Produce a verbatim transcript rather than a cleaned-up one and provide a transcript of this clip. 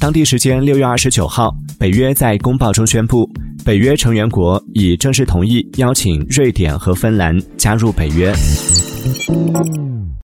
当地时间六月二十九号，北约在公报中宣布，北约成员国已正式同意邀请瑞典和芬兰加入北约。